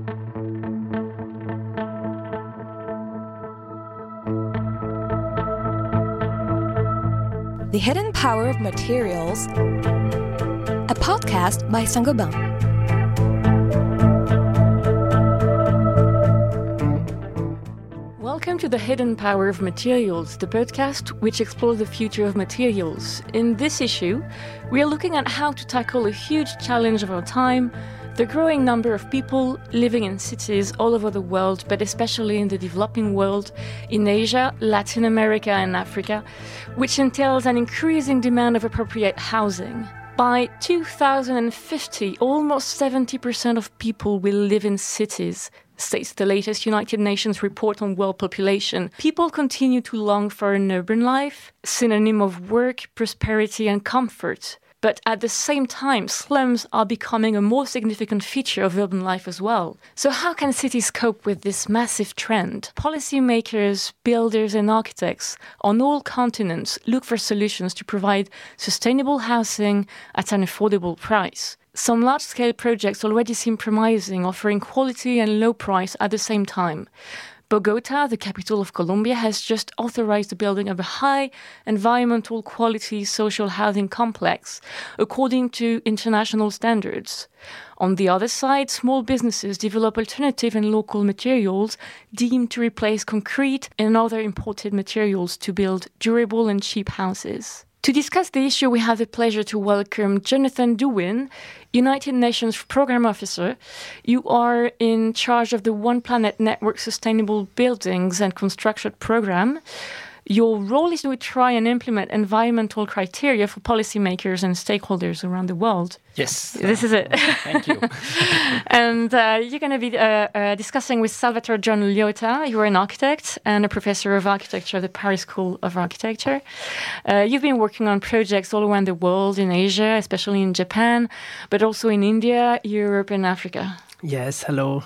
The Hidden Power of Materials, a podcast by Saint-Gobain. Welcome to The Hidden Power of Materials, the podcast which explores the future of materials. In this issue, we are looking at how to tackle a huge challenge of our time, the growing number of people living in cities all over the world, but especially in the developing world, in Asia, Latin America and Africa, which entails an increasing demand of appropriate housing. By 2050, almost 70% of people will live in cities, states the latest United Nations report on world population. People continue to long for an urban life, synonym of work, prosperity and comfort. But at the same time, slums are becoming a more significant feature of urban life as well. So how can cities cope with this massive trend? Policymakers, builders and architects on all continents look for solutions to provide sustainable housing at an affordable price. Some large-scale projects already seem promising, offering quality and low price at the same time. Bogota, the capital of Colombia, has just authorized the building of a high environmental quality social housing complex, according to international standards. On the other side, small businesses develop alternative and local materials deemed to replace concrete and other imported materials to build durable and cheap houses. To discuss the issue, we have the pleasure to welcome Jonathan Dewin, United Nations Programme Officer. You are in charge of the One Planet Network Sustainable Buildings and Construction Programme. Your role is to try and implement environmental criteria for policymakers and stakeholders around the world. Yes. This is it. Thank you. And you're going to be discussing with Salvatore John Liotta. You are an architect and a professor of architecture at the Paris School of Architecture. You've been working on projects all around the world, in Asia, especially in Japan, but also in India, Europe and Africa. Yes, hello.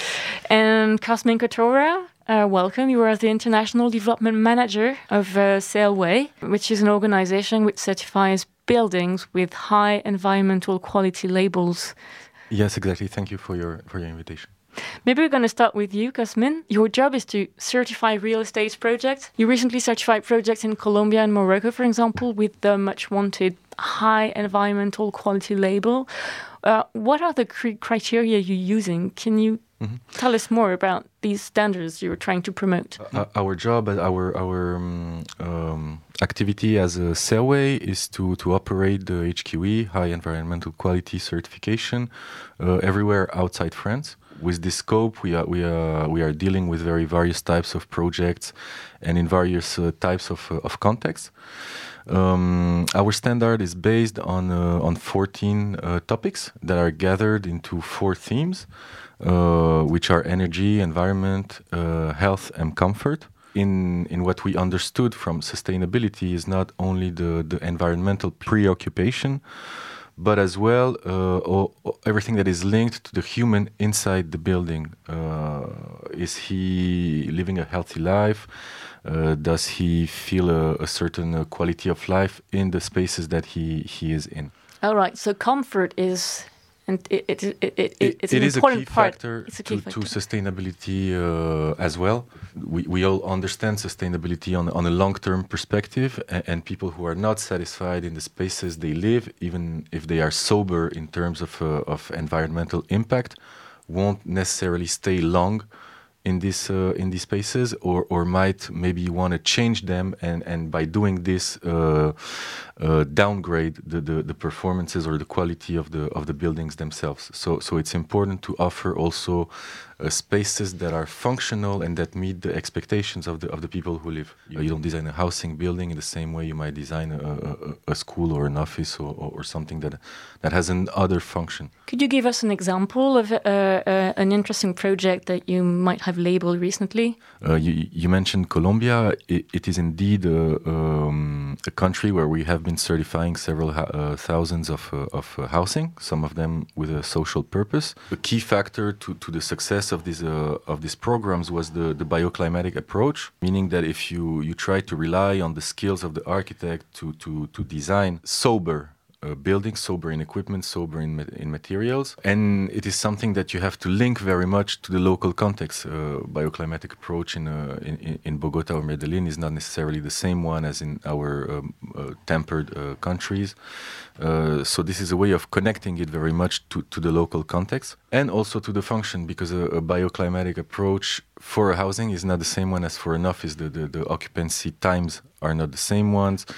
And Cosmin Kotora, welcome. You are the International Development Manager of Sailway, which is an organization which certifies buildings with high environmental quality labels. Yes, exactly. Thank you for your invitation. Maybe we're going to start with you, Cosmin. Your job is to certify real estate projects. You recently certified projects in Colombia and Morocco, for example, with the much-wanted high environmental quality label. What are the criteria you're using? Can you tell us more about these standards you're trying to promote? Our job, our activity as a Sailway is to operate the HQE, High Environmental Quality Certification, everywhere outside France. With this scope, we are dealing with very various types of projects and in various types of contexts. Our standard is based on 14 topics that are gathered into 4 themes, which are energy, environment, health, and comfort. In what we understood from sustainability is not only the environmental preoccupation, but as well everything that is linked to the human inside the building. Is he living a healthy life? Does he feel a certain quality of life in the spaces that he is in? All right, so comfort is... And it's an is important a key part. factor It's a key to factor. sustainability as well. We all understand sustainability on a long-term perspective, and people who are not satisfied in the spaces they live, even if they are sober in terms of environmental impact, won't necessarily stay long in these spaces, or might maybe want to change them, and by doing this downgrade the performances or the quality of the buildings themselves. So it's important to offer also spaces that are functional and that meet the expectations of the people who live. You don't design a housing building in the same way you might design a school or an office or something that has an other function. Could you give us an example of an interesting project that you might have labeled recently? You mentioned Colombia. It is indeed a country where we have been certifying several thousands of housing, some of them with a social purpose. A key factor to the success of these programs was the bioclimatic approach, meaning that if you try to rely on the skills of the architect to design sober buildings, sober in equipment, sober in materials. And it is something that you have to link very much to the local context. Bioclimatic approach in Bogota or Medellin is not necessarily the same one as in our tempered countries. So this is a way of connecting it very much to the local context and also to the function, because a bioclimatic approach for a housing is not the same one as for an office. The occupancy times are not the same ones.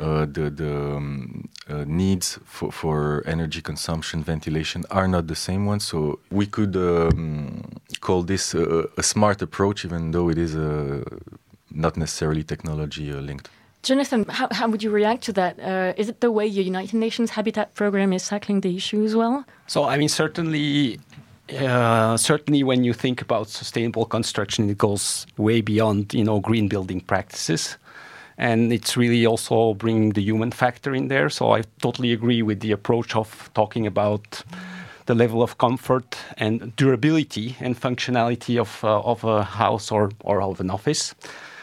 The needs for energy consumption, ventilation are not the same ones. So we could call this a smart approach, even though it is not necessarily technology linked. Jonathan, how would you react to that? Is it the way your United Nations Habitat Program is tackling the issue as well? So, I mean, certainly when you think about sustainable construction, it goes way beyond, green building practices. And it's really also bringing the human factor in there. So I totally agree with the approach of talking about the level of comfort and durability and functionality of a house or of an office.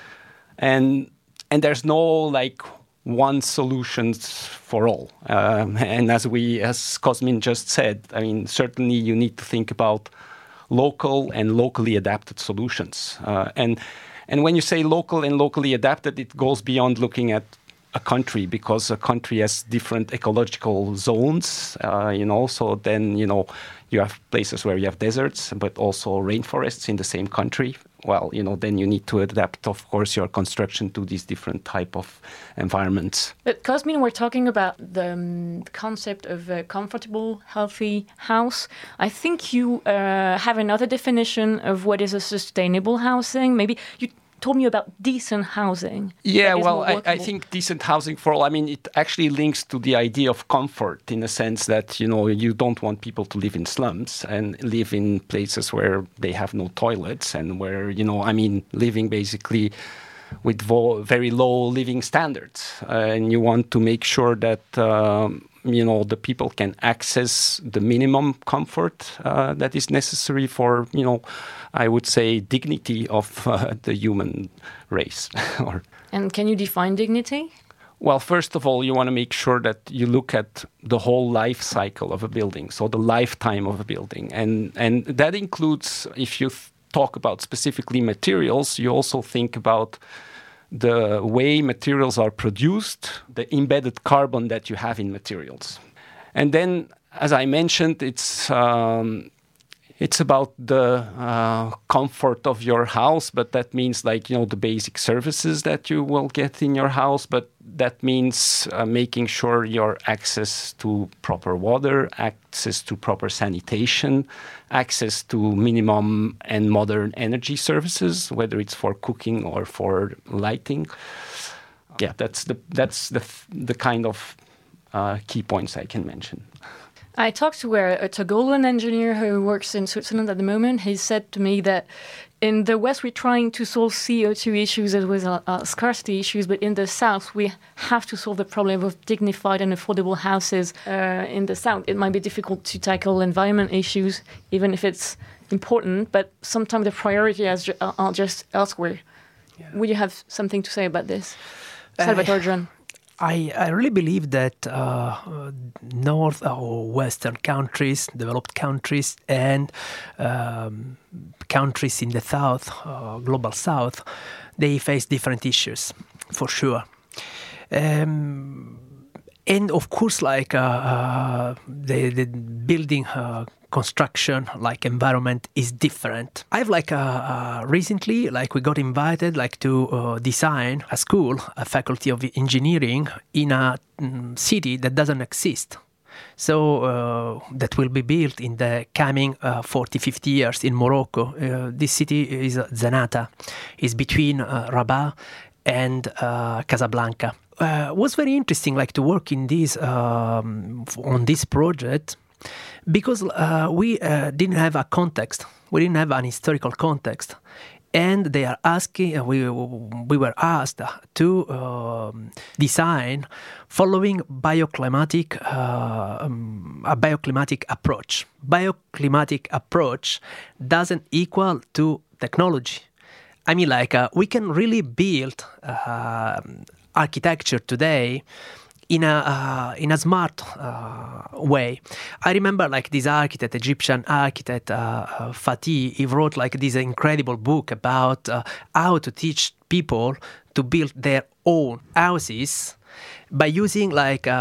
And there's no one solution for all. And as Cosmin just said, I mean, certainly you need to think about local and locally adapted solutions. And when you say local and locally adapted, it goes beyond looking at a country, because a country has different ecological zones, so then, you have places where you have deserts, but also rainforests in the same country. Well, then you need to adapt, of course, your construction to these different type of environments. But Cosmin, we're talking about the concept of a comfortable, healthy house. I think you have another definition of what is a sustainable housing. Maybe you told me about decent housing. Yeah, well, I think decent housing for all, I mean, it actually links to the idea of comfort in the sense that, you don't want people to live in slums and live in places where they have no toilets and where, living basically with very low living standards. And you want to make sure that, the people can access the minimum comfort that is necessary for, I would say, dignity of the human race. And can you define dignity? Well, first of all, you want to make sure that you look at the whole life cycle of a building, so the lifetime of a building. And that includes, if you talk about specifically materials, you also think about the way materials are produced, the embedded carbon that you have in materials. And then, as I mentioned, it's about the comfort of your house, but that means the basic services that you will get in your house, but that means making sure your access to proper water, access to proper sanitation, access to minimum and modern energy services, whether it's for cooking or for lighting. Yeah, that's the kind of key points I can mention. I talked to a Togolan engineer who works in Switzerland at the moment. He said to me that in the West, we're trying to solve CO2 issues as well as scarcity issues, but in the South, we have to solve the problem of dignified and affordable houses. In the South, it might be difficult to tackle environment issues, even if it's important, but sometimes the priorities are just elsewhere. Yeah. Would you have something to say about this? Salvatore John. I really believe that North or Western countries, developed countries, and countries in the South, global South, they face different issues, for sure. And of course, the building construction, environment is different. I've recently, we got invited to design a school, a faculty of engineering in a city that doesn't exist. So that will be built in the coming 40, 50 years in Morocco. This city is Zenata. It's between Rabat and Casablanca. It was very interesting to work in this on this project, because we didn't have a context. We didn't have an historical context. And they are asking, we were asked to design following a bioclimatic approach. Bioclimatic approach doesn't equal to technology. I mean, we can really build architecture today in a smart way. I remember like this architect, Egyptian architect Fatih. He wrote like this incredible book about how to teach people to build their own houses by using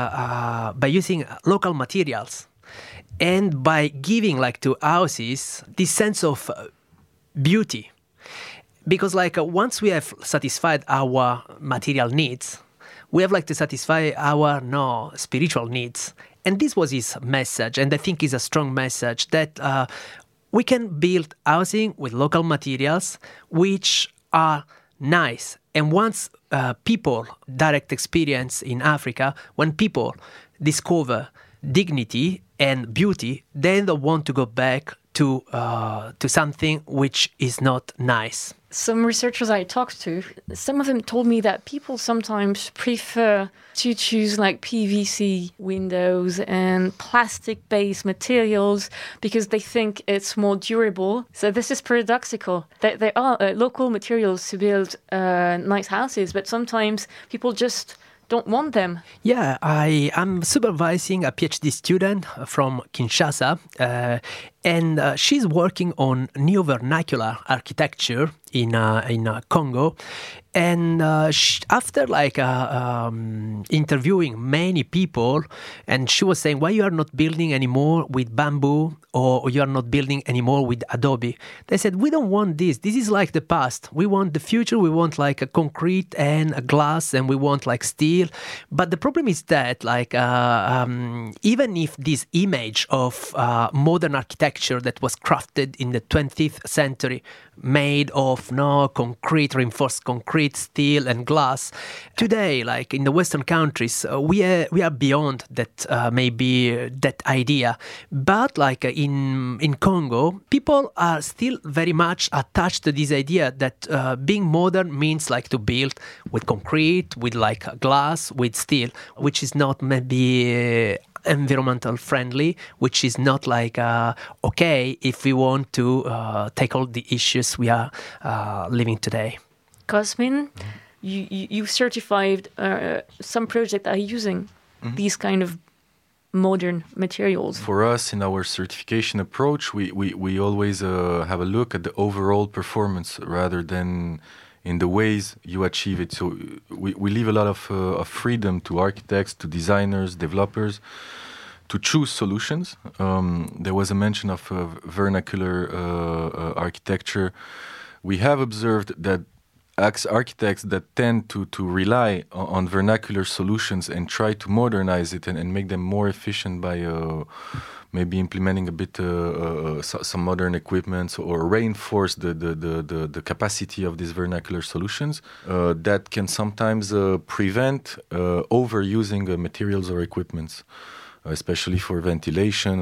local materials and by giving like to houses this sense of beauty. Because like once we have satisfied our material needs, we have like to satisfy our spiritual needs. And this was his message, and I think is a strong message that we can build housing with local materials which are nice. And once people direct experience in Africa, when people discover dignity and beauty, they don't want to go back to something which is not nice. Some researchers I talked to, some of them told me that people sometimes prefer to choose like PVC windows and plastic-based materials because they think it's more durable. So this is paradoxical. There are local materials to build nice houses, but sometimes people just don't want them. Yeah, I am supervising a PhD student from Kinshasa, and she's working on neo vernacular architecture in Congo. And after interviewing many people, and she was saying, why you are not building anymore with bamboo, or you are not building anymore with Adobe? They said, we don't want this. This is like the past. We want the future. We want like a concrete and a glass, and we want like steel. But the problem is that even if this image of modern architecture that was crafted in the 20th century, made of concrete, reinforced concrete, steel and glass, today, like in the Western countries, we are beyond that maybe that idea. But like in Congo, people are still very much attached to this idea that being modern means like to build with concrete, with like glass, with steel, which is not maybe environmental friendly, which is not like okay if we want to tackle the issues we are living today. Cosmin, you certified some projects that are using these kind of modern materials. For us, in our certification approach, we always have a look at the overall performance rather than in the ways you achieve it. So we leave a lot of freedom to architects, to designers, developers, to choose solutions. There was a mention of vernacular architecture. We have observed that architects that tend to rely on vernacular solutions and try to modernize it and make them more efficient by maybe implementing a bit some modern equipment or reinforce the capacity of these vernacular solutions, that can sometimes prevent overusing materials or equipments. Especially for ventilation.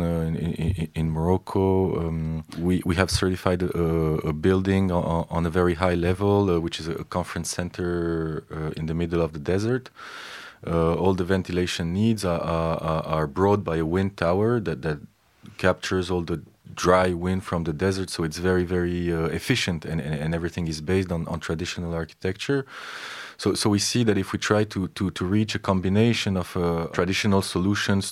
In Morocco, we have certified a building on a very high level, which is a conference center in the middle of the desert. All the ventilation needs are brought by a wind tower that captures all the dry wind from the desert, so it's very, very efficient, and everything is based on traditional architecture. So we see that if we try to reach a combination of traditional solutions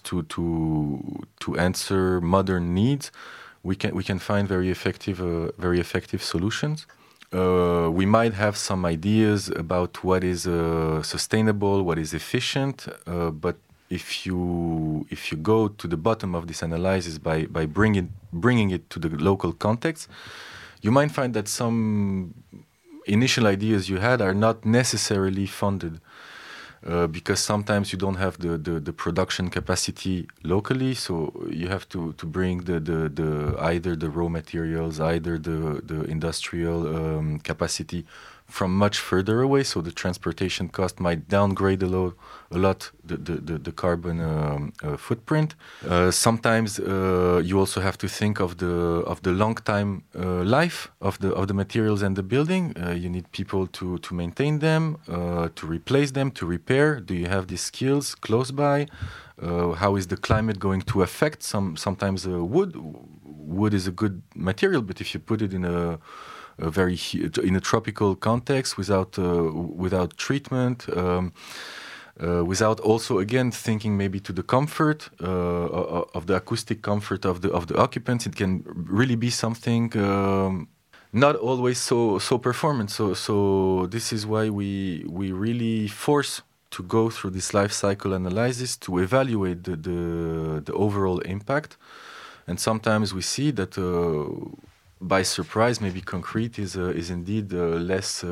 to answer modern needs, we can find very effective solutions. We might have some ideas about what is sustainable, what is efficient, but if you go to the bottom of this analysis by bringing it to the local context, you might find that some initial ideas you had are not necessarily funded because sometimes you don't have the production capacity locally, so you have to bring the either the raw materials, either the industrial capacity from much further away, so the transportation cost might downgrade a lot the carbon footprint. Sometimes you also have to think of the long time life of the materials and the building. You need people to maintain them, to replace them, to repair. Do you have these skills close by? How is the climate going to affect sometimes wood? Wood is a good material, but if you put it in a tropical context without treatment, without also again thinking maybe to the comfort of the acoustic comfort of the occupants. It can really be something not always so performant. So this is why we really force to go through this life cycle analysis to evaluate the overall impact. And sometimes we see that by surprise, maybe concrete is indeed less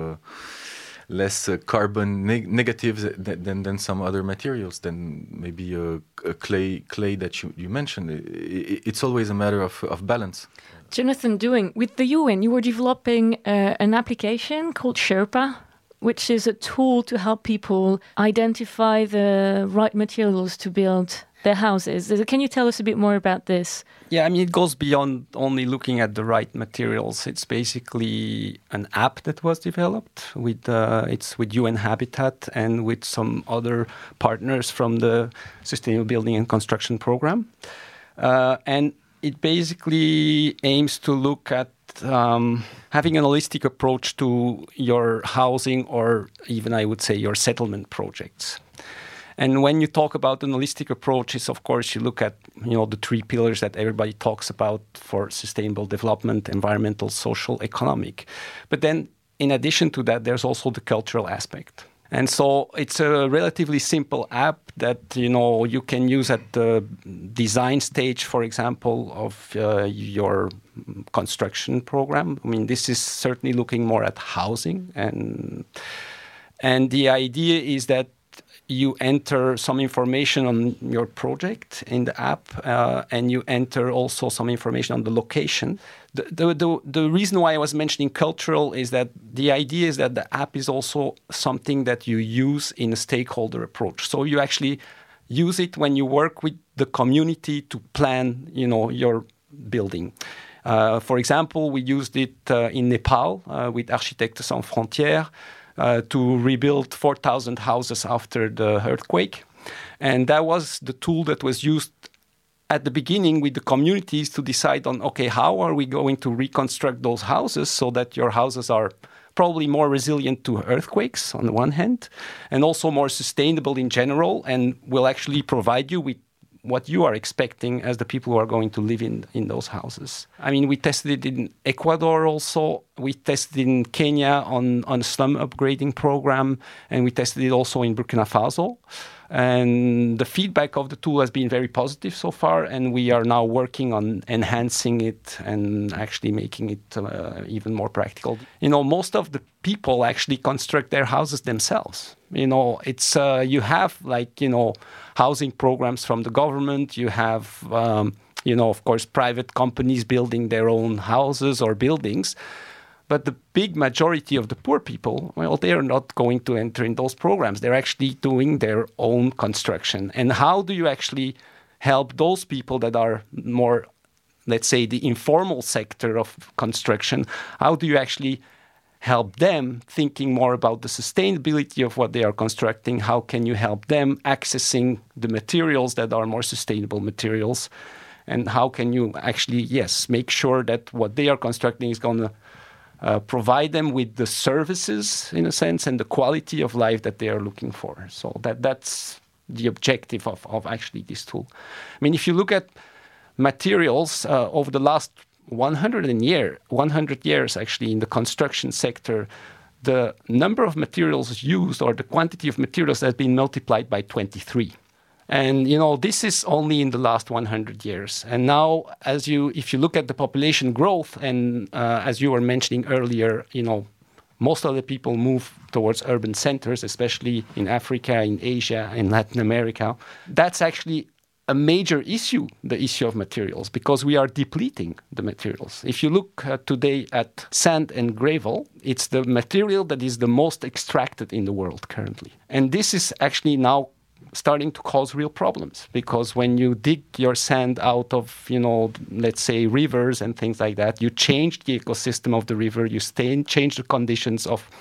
carbon negative than some other materials, than maybe a clay that you mentioned. It's always a matter of balance. Jonathan Dewing, with the UN, you were developing an application called Sherpa, which is a tool to help people identify the right materials to build their houses. Can you tell us a bit more about this? Yeah, I mean, it goes beyond only looking at the right materials. It's basically an app that was developed it's with UN Habitat and with some other partners from the Sustainable Building and Construction Program. And it basically aims to look at having an holistic approach to your housing, or even I would say your settlement projects. And when you talk about an holistic approach, is of course you look at the three pillars that everybody talks about for sustainable development: environmental, social, economic. But then in addition to that, there's also the cultural aspect. And so it's a relatively simple app that you can use at the design stage, for example, of your construction program. I mean, this is certainly looking more at housing, and the idea is that you enter some information on your project in the app, and you enter also some information on the location. The reason why I was mentioning cultural is that the idea is that the app is also something that you use in a stakeholder approach. So you actually use it when you work with the community to plan, your building. For example, we used it in Nepal with Architectes Sans Frontières to rebuild 4,000 houses after the earthquake. And that was the tool that was used at the beginning with the communities to decide on, okay, how are we going to reconstruct those houses so that your houses are probably more resilient to earthquakes on the one hand, and also more sustainable in general, and will actually provide you with what you are expecting as the people who are going to live in those houses. I mean, we tested it in Ecuador also. We tested it in Kenya on a slum upgrading program, and we tested it also in Burkina Faso. And the feedback of the tool has been very positive so far, and we are now working on enhancing it and actually making it even more practical. Most of the people actually construct their houses themselves. It's you have housing programs from the government. You have of course, private companies building their own houses or buildings. But the big majority of the poor people, well, they are not going to enter in those programs. They're actually doing their own construction. And how do you actually help those people that are more, let's say, the informal sector of construction? How do you actually help them thinking more about the sustainability of what they are constructing? How can you help them accessing the materials that are more sustainable materials? And how can you actually, make sure that what they are constructing is going to provide them with the services, in a sense, and the quality of life that they are looking for. So that's the objective of actually this tool. I mean, if you look at materials over the last 100 years, actually, in the construction sector, the number of materials used, or the quantity of materials, has been multiplied by 23. And, this is only in the last 100 years. And now, if you look at the population growth, and as you were mentioning earlier, most of the people move towards urban centers, especially in Africa, in Asia, in Latin America. That's actually a major issue, the issue of materials, because we are depleting the materials. If you look today at sand and gravel, it's the material that is the most extracted in the world currently. And this is actually now starting to cause real problems, because when you dig your sand out of, let's say rivers and things like that, you change the ecosystem of the river, you change the conditions of,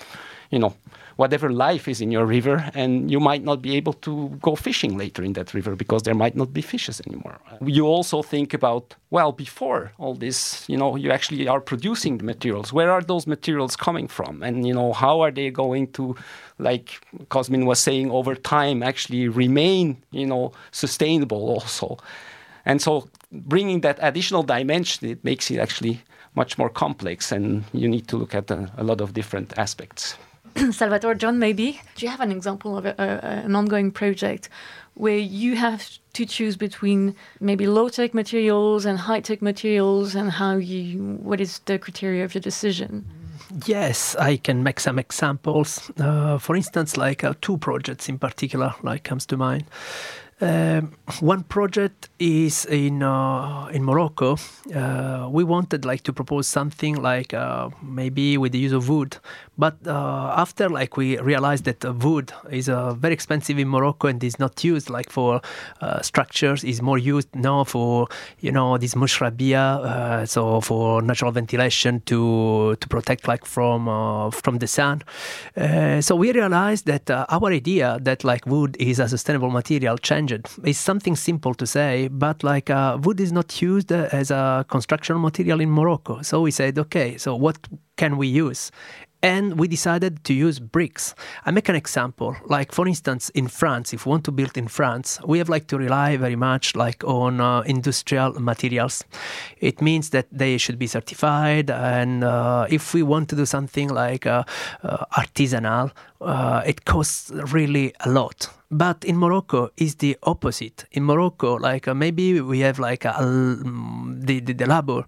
whatever life is in your river, and you might not be able to go fishing later in that river because there might not be fishes anymore. You also think about, well, before all this, you actually are producing the materials. Where are those materials coming from? And, how are they going to, like Cosmin was saying, over time actually remain, sustainable also? And so bringing that additional dimension, it makes it actually much more complex, and you need to look at a lot of different aspects. Salvatore, John, maybe, do you have an example of an ongoing project where you have to choose between maybe low-tech materials and high-tech materials, and what is the criteria of your decision? Yes, I can make some examples. For instance, like 2 projects in particular, comes to mind. One project is in Morocco. We wanted to propose something maybe with the use of wood, but after we realized that wood is very expensive in Morocco and is not used for structures. Is more used now for this mushrabia, so for natural ventilation to protect from the sun. So we realized that our idea that wood is a sustainable material changed. It's something simple to say, but wood is not used as a construction material in Morocco. So we said, okay, so what can we use? And we decided to use bricks. I make an example. For instance, in France, if we want to build in France, we have to rely very much on industrial materials. It means that they should be certified. And if we want to do something artisanal, it costs really a lot. But in Morocco, it's the opposite. In Morocco, maybe we have the labor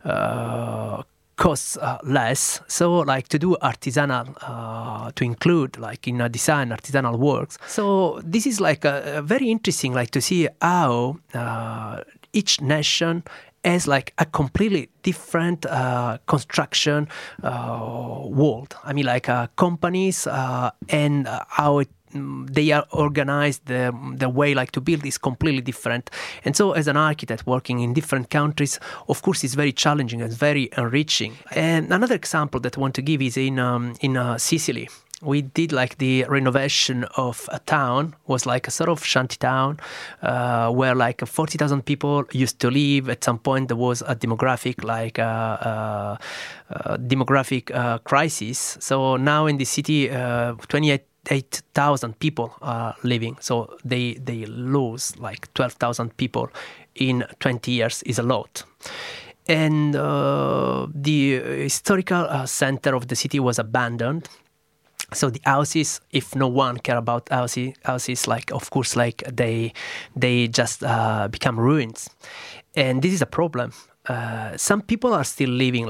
costs less. So to do artisanal, to include in a design artisanal works. So this is very interesting to see how each nation has a completely different construction world. I mean companies and how they are organized, the way to build is completely different. And so as an architect working in different countries, of course, it's very challenging and very enriching. And another example that I want to give is in Sicily. We did the renovation of a town, was a sort of shanty town where 40,000 people used to live. At some point there was a demographic crisis. So now in the city, 28,000 people are living. So they lose 12,000 people in 20 years is a lot. And the historical center of the city was abandoned. So the houses, if no one care about houses, of course, they just become ruins. And this is a problem. Some people are still living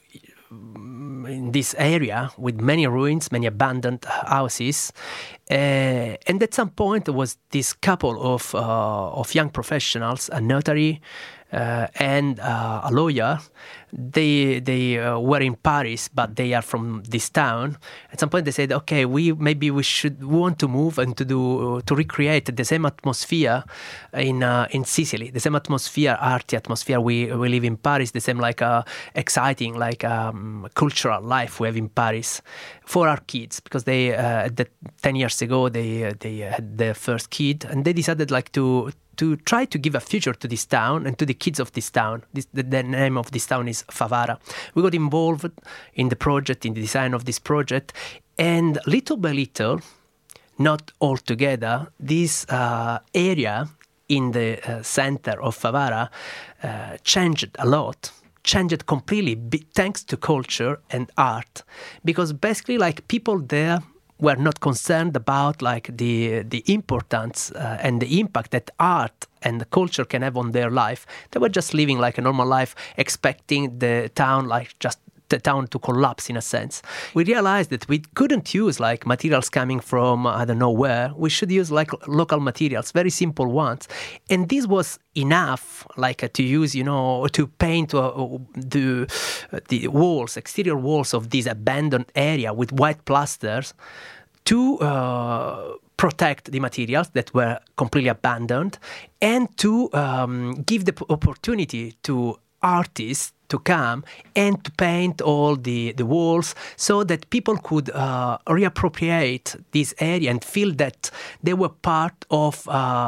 in this area with many ruins, many abandoned houses. And at some point, there was this couple of young professionals, a notary and a lawyer. They were in Paris, but they are from this town. At some point, they said, "Okay, we want to move and to recreate the same atmosphere in Sicily, the same atmosphere, arty atmosphere we live in Paris, the same exciting cultural life we have in Paris for our kids." Because they 10 years ago they had their first kid, and they decided to try to give a future to this town and to the kids of this town. The name of this town is Favara. We got involved in the project, in the design of this project, and little by little, not all together, this area in the center of Favara changed a lot. Changed completely thanks to culture and art. Because basically, people there were not concerned about the importance and the impact that art and the culture can have on their life. They were just living a normal life, expecting the town just the town to collapse in a sense. We realized that we couldn't use materials coming from I don't know where. We should use local materials, very simple ones. And this was enough to use, to paint the walls, exterior walls of this abandoned area with white plasters to protect the materials that were completely abandoned and to give the opportunity to artists to come and to paint all the walls so that people could reappropriate this area and feel that they were part of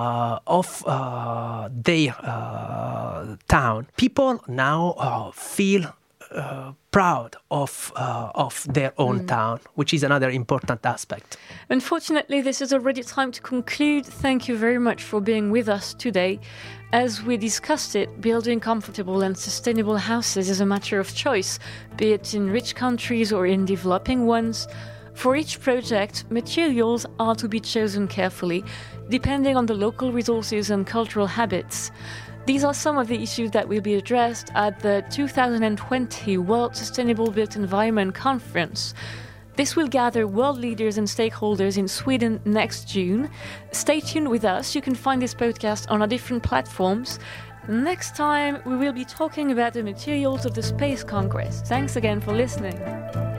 their town. People now feel proud of their own town, which is another important aspect. Unfortunately, this is already time to conclude. Thank you very much for being with us today. As we discussed it, building comfortable and sustainable houses is a matter of choice, be it in rich countries or in developing ones. For each project, materials are to be chosen carefully, depending on the local resources and cultural habits. These are some of the issues that will be addressed at the 2020 World Sustainable Built Environment Conference. This will gather world leaders and stakeholders in Sweden next June. Stay tuned with us. You can find this podcast on our different platforms. Next time, we will be talking about the materials of the Space Congress. Thanks again for listening.